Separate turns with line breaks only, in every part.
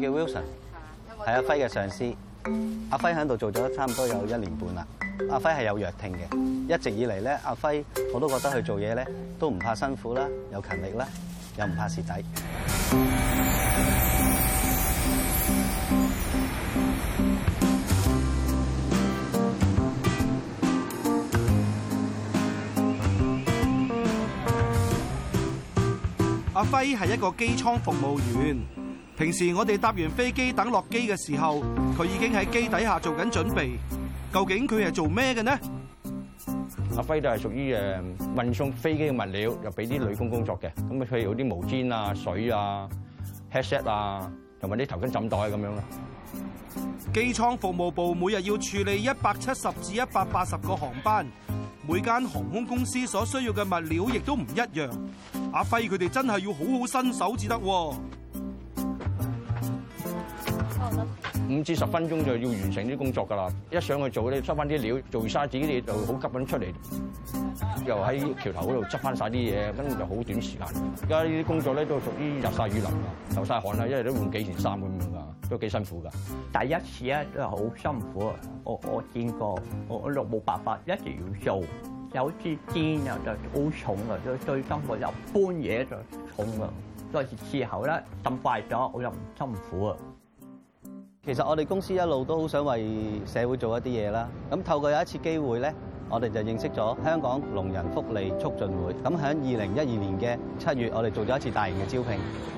叫 Wilson， 係阿輝嘅上司。阿輝喺度做咗差唔多有1年半啦。阿輝係有弱聽嘅，一直以嚟咧，阿輝我都覺得佢做嘢咧都唔怕辛苦啦，又勤力啦，又唔怕蝕底。
阿輝係一個機艙服務員，平時我哋搭完飛機等落機嘅時候，佢已經喺機底下做緊準備。究竟佢係做咩嘅呢？
阿輝都係屬於運送飛機嘅物料，又俾啲女工工作嘅。咁啊，譬如啲毛氈啊、水啊、headset 啊，同埋啲頭巾枕袋咁樣咯。
機艙服務部每日要處理170至180個航班，每間航空公司所需要嘅物料亦都唔一樣。阿輝佢哋真係要好好身手至得。
5至10分鐘就要完成啲工作㗎啦！一上去做咧，執翻啲料，做晒自己啲嘢就好急咁出嚟，又喺橋頭嗰度執翻晒啲嘢，跟住就好短時間。而家呢啲工作咧都屬於日曬雨淋㗎，流晒汗啦，一日都換幾件衫咁樣㗎，都幾辛苦㗎。
第一次咧都係好辛苦啊！我見過，我就冇辦法，一定要做。有支肩啊就好重啊，最辛苦又搬嘢就重啊。再之後咧浸壞咗，我又唔辛苦啊。
其實我哋公司一路都好想為社會做一啲嘢啦。咁透過有一次機會咧，我哋就認識咗香港聾人福利促進會。咁喺2012年嘅7月，我哋做咗一次大型嘅招聘。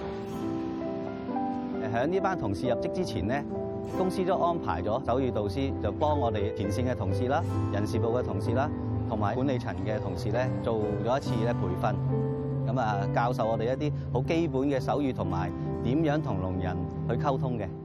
喺呢班同事入職之前咧，公司都安排咗手語導師，就幫我哋前線嘅同事啦、人事部嘅同事啦，同埋管理層嘅同事咧，做咗一次咧培訓。咁啊，教授我哋一啲好基本嘅手語同埋點樣同聾人去溝通嘅。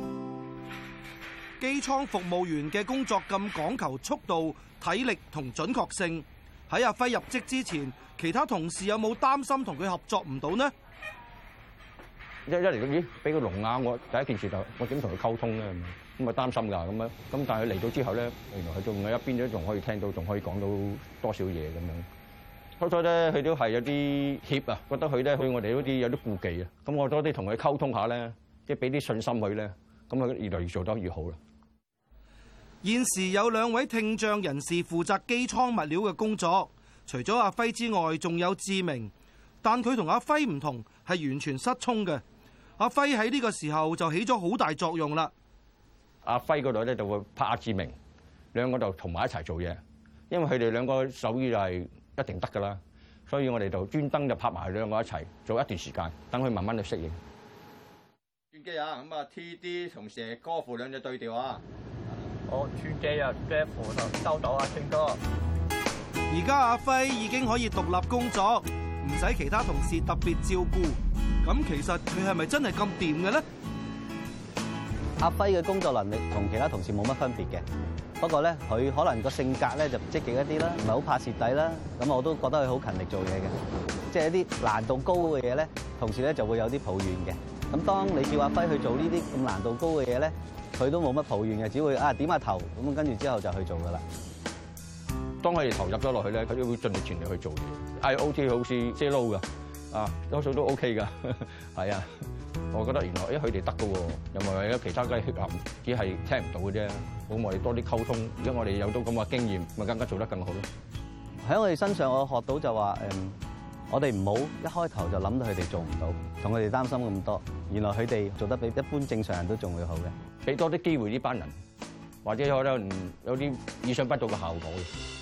機艙服務員嘅工作咁講求速度、體力同準確性，喺阿輝入職之前，其他同事有冇擔心同佢合作唔到呢？
一嚟到咦，俾個聾啞，我第一件事就我點同佢溝通咧？咁啊擔心㗎咁樣。咁但係嚟到之後咧，原來佢仲喺一邊都仲可以聽到，仲可以講到多少嘢咁樣。初初咧，佢都係有啲怯啊，覺得佢咧對我哋嗰啲有啲顧忌啊。咁我多啲同佢溝通下咧，即係俾啲信心佢咧，咁佢越嚟越做得越好啦。
現時有2位聽障人士負責機艙物料嘅工作，除咗阿輝之外，仲有志明，但佢同阿輝唔同，係完全失聰嘅。阿輝喺呢個時候就起咗好大作用啦。
阿輝嗰度咧就會拍阿志明，兩個就同埋一齊做嘢，因為佢哋兩個手語就係一定得㗎啦，所以我哋就專登就拍埋兩個一齊做一段時間，等佢慢慢去適應。轉機啊！咁啊 TD 同蛇歌符兩隻對調啊！
我轉機啊，姐扶就收到啊，星哥。
而家阿輝已經可以獨立工作，唔使其他同事特別照顧。咁其實佢係咪真係咁掂嘅咧？
阿輝嘅工作能力同其他同事冇乜分別嘅，不過咧佢可能個性格咧就積極一啲啦，唔係好怕蝕底啦。咁我都覺得佢好勤力做嘢嘅，即係一啲難度高嘅嘢咧，同事咧就會有啲抱怨嘅。咁當你叫阿輝去做呢啲咁難度高嘅嘢咧，佢都冇乜抱怨嘅，只會點下頭咁，跟住之後就去做噶啦。
當佢哋投入咗落去咧，佢都會盡力全力去做嘢。IOT 好似 zero 㗎，多數都 OK 㗎，係啊。我覺得原來佢哋得㗎喎，又唔係有其他嘅缺陷，只係聽唔到嘅啫。咁我哋多啲溝通，而家我哋有到咁嘅經驗，咪更加做得更好咯。喺我哋身上，我學到就話我哋唔好一開頭就諗到佢哋做唔到，同佢哋擔心咁多。原來佢哋做得比一般正常人都仲會好嘅。俾多啲機會呢班人，或者可能有啲意想不到嘅效果。